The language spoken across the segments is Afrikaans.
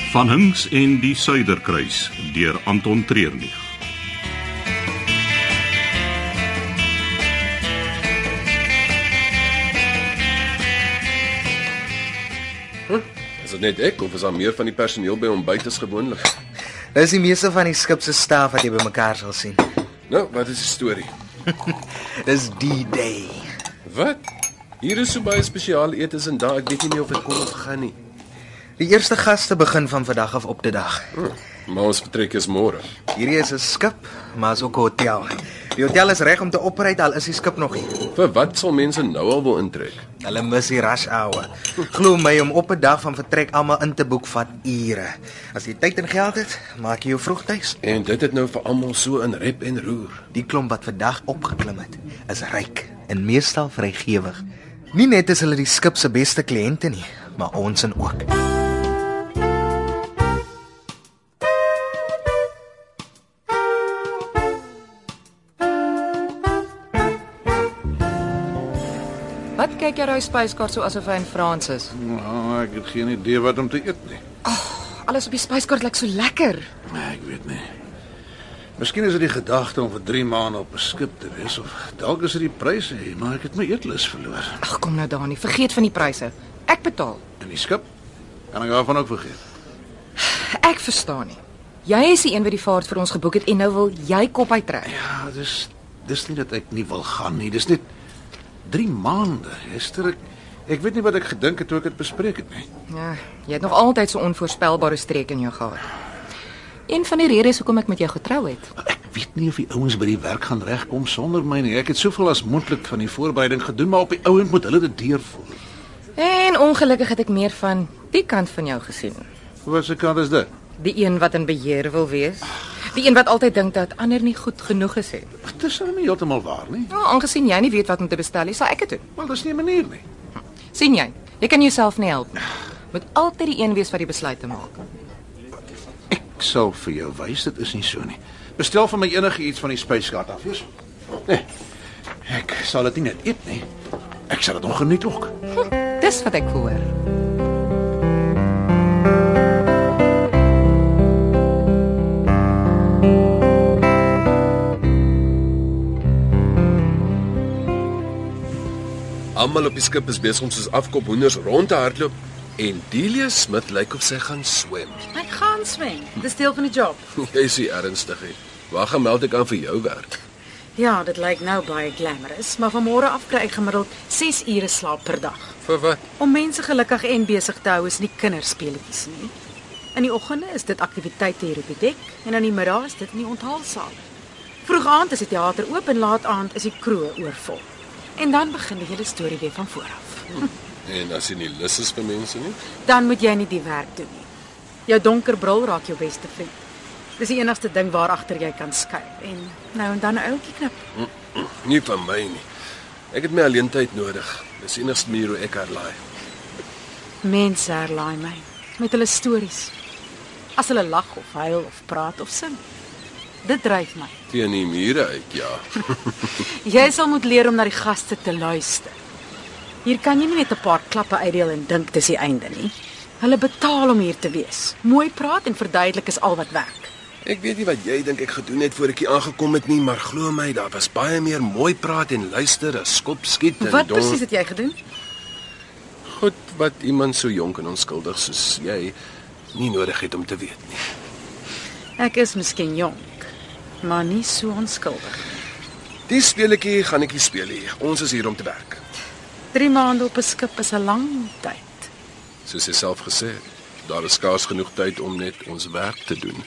Van Hinks en die Suiderkruis deur Anton Treurnig. Is dit net ek of is daar meer van die personeel by ontbyt as gewoonlik? Dis die meeste van die skip se staf wat jy bymekaar sal sien. Nou, wat is die storie? Dis D-Day. Wat? Hier is so baie spesiale etes en daar, ek weet nie meer of ek kom of gaan nie. Die eerste gaste begin van vandag af op die dag. Maar ons vertrek is môre. Hierdie is 'n skip, maar is ook 'n hotel. Die hotel is reg om te operate, al is die skip nog nie. Vir wat sal mense nou al wil intrek? Hulle mis die rush hour. Glo my, om op 'n dag van vertrek almal in te boek vat ure. As jy tyd en geld het, maak jy jou vroeg tuis. En dit het nou vir almal so in rep en roer. Die klomp wat vandag opgeklim het, is ryk en meestal vrygewig. Nie net is hulle die skip se beste kliënte nie, maar ons en ook. Wat kyk jy daai spyskaart so asof hy in Frans is? Nou, ek het geen idee wat om te eet nie. Alles op die spyskaart lyk so lekker. Nee, ek weet nie. Miskien is dit die gedagte om vir 3 maande op 'n skip te wees, of dalk is dit die pryse, maar ek het my eetlus verloor. Ag, kom nou Dani, vergeet van die pryse. Ek betaal. En die skip? Kan ek daarvan ook vergeet? Ek verstaan nie. Jy is die een wat die vaart vir ons geboek het en nou wil jy kop uittrek. Ja, dis nie dat ek nie wil gaan nie. Dis net 3 maande. Esther, ek weet nie wat ek gedink het toe ek dit bespreek het nie. Ja, jy het nog altyd so onvoorspelbare streek in jou gehad. Een van die redes hoekom ek met jou getrou het. Ek weet nie of die ouens by die werk gaan regkom sonder my nie. Ek het soveel as moontlik van die voorbereiding gedoen, maar op die ouend moet hulle dit deurvoer. En ongelukkig het ek meer van die kant van jou gesien. Wat se kant is dit? Die een wat in beheer wil wees. Die een wat altyd dink dat ander nie goed genoeg is nie. Dit is nou nie heeltemal waar nie. Nou, aangesien jy nie weet wat om te bestel nie, sal ek dit doen. Wel, dis nie 'n manier nie. Sien jy? Jy kan jouself nie help nie. Moet altyd die een wees wat die besluite maak. Ek sal vir jou wys, dit is nie so nie. Bestel vir my enige iets van die spyskaart af, is? Nee. Ek sal dit nie net eet nie. Ek sal dit nog geniet ook. Dis wat ek hoor. Almal op die skip is besig om soos afkop hoenders rond te hardloop en Delia Smith lyk of sy gaan swem. Ek gaan swem. Dis deel van die job. Jy is nie ernstig nie. Waar gaan meld ek aan vir jou werk? Ja, dit lyk nou baie glamorous, maar van môre af kry ek gemiddeld 6 ure slaap per dag. Vir wat? Om mense gelukkig en besig te hou is nie kinderspeletjies nie. In die oggende is dit aktiwiteite hier op die dek en in die middag is dit in die onthaalsaal. Vroeg aand is die teater oop en laat aand is die kroeg oorvol. En dan begin die hele storie weer van voor af. En as jy nie lus is vir mense nie? Dan moet jy nie die werk doen nie. Jou donker bril raak jou beste vriend. Dis die enigste ding waar agter jy kan skuil en nou en dan 'n ouetjie knip. Nie van my nie. Ek het my alleentyd nodig. Dis die enigste manier hoe ek herlaai. Mense herlaai my met hulle stories. As hulle lag of huil of praat of sing. Dit dryf my. Teen die mure uit, ja. Jy sal moet leer om na die gaste te luister. Hier kan jy nie net 'n paar klappe uitdeel en dink dis die einde nie. Hulle betaal om hier te wees. Mooi praat en verduidelik is al wat werk. Ek weet nie wat jy dink ek gedoen het voor ek hier aangekom het nie, maar glo my, daar was baie meer mooi praat en luister as skop skiet en Wat presies het jy gedoen? Goed wat iemand so jonk en onskuldig soos jy nie nodig het om te weet nie. Ek is miskien jonk, maar nie so onskuldig. Die speletjie gaan ek nie speel hier. Ons is hier om te werk. 3 maande op 'n skip is 'n lang tyd. Soos jy self gesê het, daar is skaars genoeg tyd om net ons werk te doen.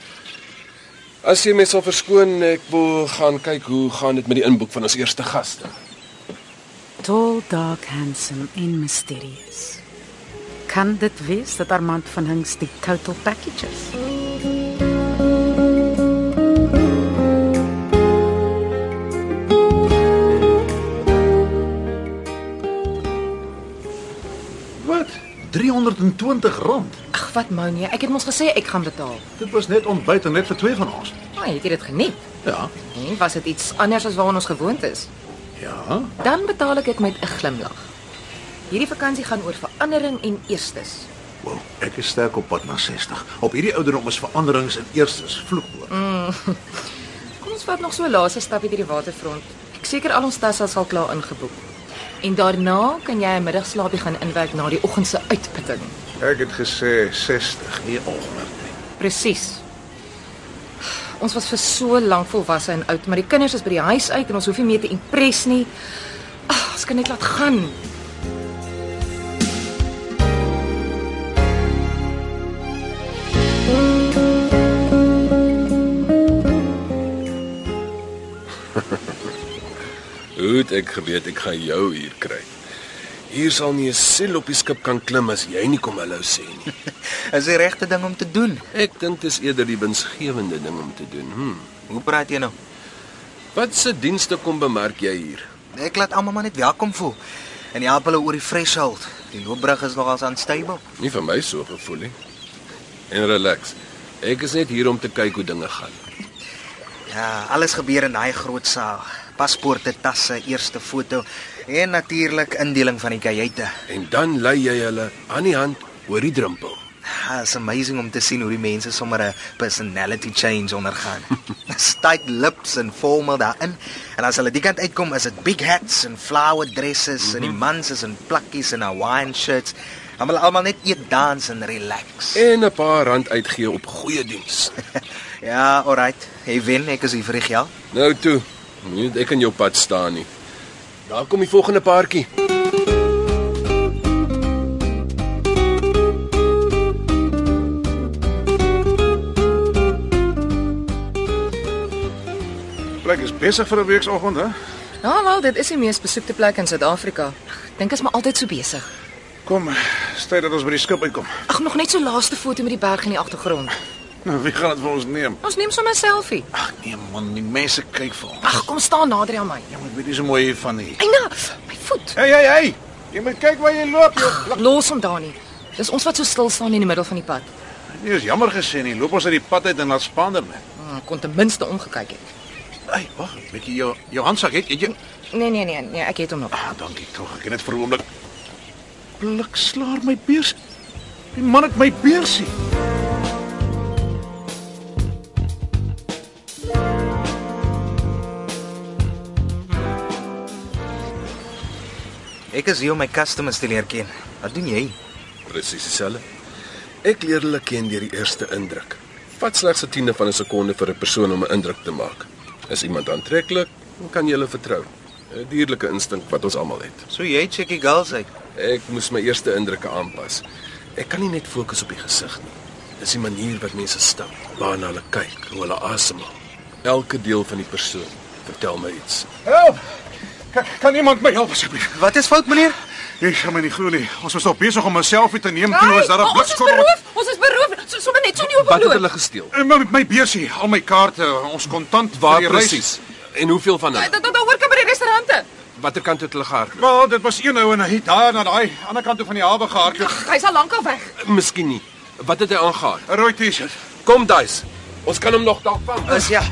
As jy my sal verskoon, ek wil gaan kyk hoe gaan dit met die inboek van ons eerste gaste. Tall, dark, handsome en mysterious. Kan dit wees dat Armand van Hinks die total package is? Wat? R320. Ag, wat Monie, ek het mos gesê ek gaan betaal. Dit was net ontbyt en net vir 2 van ons. Maar het jy dit geniet? Ja. En was dit iets anders as waaraan ons gewoond is? Ja. Dan betaal ek met 'n glimlag. Hierdie vakansie gaan oor verandering en eerstes. Wel, ek is sterk op pad na 60. Op hierdie ouderdom is veranderings in eerstes vloekwoord. Kom ons vat nog so 'n laaste stapie deur die waterfront. Ek seker al ons tasse sal klaar ingeboek. En daarna kan jy 'n middagslaapie gaan inwerk na die oggend se uitputting. Ek het gesê 60, nie 100 nie. Presies. Ons was vir so lank volwasse en oud, maar die kinders is by die huis uit en ons hoef nie meer te impres nie. Ons kan net laat gaan. Hoe het ek geweet ek gaan jou hier kry? Hier sal nie 'n siel op die skip kan klim as jy nie kom hallo sê nie. Is die regte ding om te doen. Ek dink dis eerder die winsgewende ding om te doen. Hoe praat jy nou? Wat se dienste kom bemerk jy hier? Ek laat almal maar net welkom voel. En jy help hulle oor die threshold. Die loopbrug is nogals unstable. Nie vir my so gevoel nie. En relax. Ek is net hier om te kyk hoe dinge gaan. Ja, alles gebeur in daai groot saal. Paspoorte, tasse, eerste foto en natuurlik indeling van die kajuite. En dan lei jy hulle aan die hand oor die drempel. It's amazing om te sien hoe die mense sommer 'n personality change ondergaan. Tight lips en formal daarin. En as hulle die kant uitkom, is dit big hats en flower dresses en die mans is in plakkies en Hawaiian shirts. Dan wil almal net eet, dans en relax. En 'n paar rand uitgee op goeie diens. Ja, alright. Hey wen, ek is hier vir die geld. Nou toe, moenie ek in jou pad staan nie. Daar kom die volgende paartjie. Plek is besig vir 'n weekoggend, hè? Ja, wel, dit is die mees besoekte plek in Suid-Afrika. Ek dink is maar altyd so besig. Kom, stay dat ons by die skip uitkom. Ag, nog net so laaste foto met die berg in die agtergrond. Nou, wie gaan dit vir ons neem? Ons neem sommer 'n selfie. Ag nee man, die mense kyk vir ons. Ag, kom staan nader aan my. Ja, maar ek weet nie so mooi hiervan nie. Eina, my voet. Hey. Jy moet kyk waar jy loop, joh. Ag, los hom daar nie. Dis ons wat so stil staan in die middel van die pad. Nee, is jammer gesê nie. Loop ons uit die pad uit en laat Spaander met. Ek kon ten minste omgekyk het. Hey, wag, weet jy jou handsak het jy? Nee, ek het hom nog. Dankie tog. Ek het net vir 'n oomblik blikslaar my beurs. Die man het my beursie. Ek is hier om my customers te leer ken. Wat doen jy? Presies dieselfde. Ek leer hulle ken deur die eerste indruk. Vat slegs 'n tiende van 'n sekonde vir 'n persoon om 'n indruk te maak. Is iemand aantreklik, dan kan jy hulle vertrou. 'n Dierlike instink wat ons almal het. So jy check die girls uit. Ek moes my eerste indrukke aanpas. Ek kan nie net fokus op die gesig nie. Dis die manier wat mense stap, waarna hulle kyk, hoe hulle asemhaal. Elke deel van die persoon vertel my iets. Help! Kan iemand my help asseblief? Wat is fout, meneer? Jy gaan my nie glo nie. Ons was nog besig om 'n selfie te neem toe was daar 'n blikskorrel. Ons is beroof. Sommer net so nie op Wat het bloot. hulle gesteel? My beursie, al my kaarte, ons kontant Waar vir die reis. presies? En hoeveel van hulle? Daar hoor kan by die restaurante. Watter kant het hulle gehardloop? Wel, dit was een ou en hy het daar na daai ander kant toe van die hawe gehardloop. Hy's al lankal weg. Miskien nie. Wat het hy aangegaan? 'n Rooi T-shirt. Kom, Duis. Ons kan hom nog dalk vang. Is ja.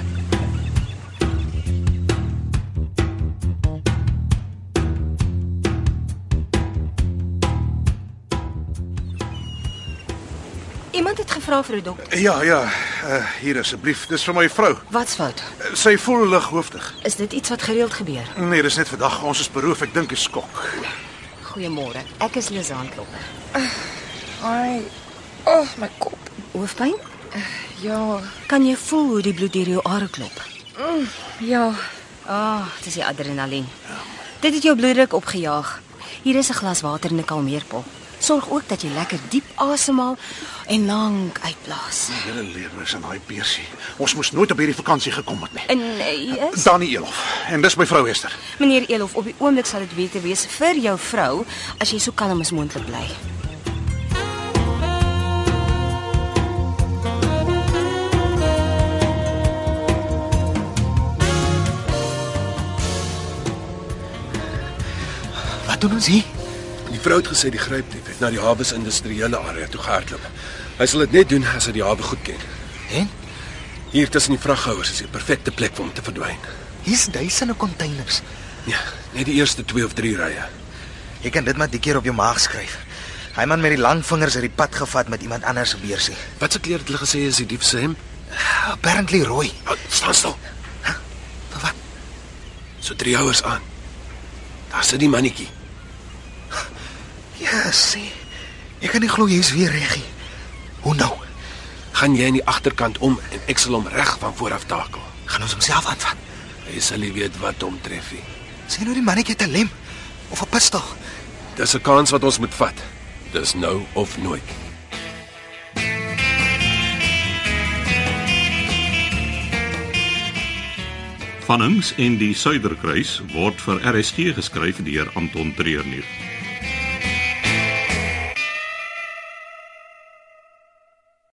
Iemand het gevra vir 'n dokter. Ja, hier asseblief. Dis vir my vrou. Wat's fout? Sy voel lighoofdig. Is dit iets wat gereeld gebeur? Nee, dis net vandag. Ons is beroof. Ek dink dit is skok. Goeiemôre. Ek is Lizaan Klopper. Ai. Oh, my kop. Hoofpyn? Ja. Kan jy voel hoe die bloed deur jou are klop? Ja. Dit is die adrenalien. Dit het jou bloeddruk opgejaag. Hier is 'n glas water en 'n kalmeerpil. Sorg ook dat jy lekker diep asemhaal en lank uitblaas. Hele lewe is in daai beursie. Ons moes nooit op hierdie vakansie gekom het nie. En jy is Dani Elof. En dis my vrou Esther. meneer Elof, op die oomblik sal dit beter wees vir jou vrou as jy so kalm as moontlik bly. Wat doen ons hier? Die vrou het gesê die grypdief het na die hawe se industriële area toe gehardloop. Hy sal dit net doen as hy die hawe goed ken. En Hier tussen die vraghouers is die perfekte plek vir hom te verdwyn. hier's duisende containers. Ja, net die eerste 2 of 3 rye. Jy kan dit maar die keer op jou maag skryf. Hy man met die lang vingers het die pad gevat met iemand anders se beursie. Wat se kleur het hulle gesê is die dief se hemp? Apparently rooi. Oh, staan stil. Wat? So 3 houers aan. Daar sit die mannetjie. Ja, sien. Ek kan nie glo jy's weer reggie. Hoe nou? Gaan jy in die agterkant om en ek sal hom reg van voor af takel. Gaan ons homself aanvat? Hy sal nie weet wat hom tref nie. Sien nou die mannetjie het 'n lem of 'n pistool. Dis 'n kans wat ons moet vat. Dis nou of nooit. Van Hinks en die Suiderkruis word vir RSG geskryf deur Anton Treurnig.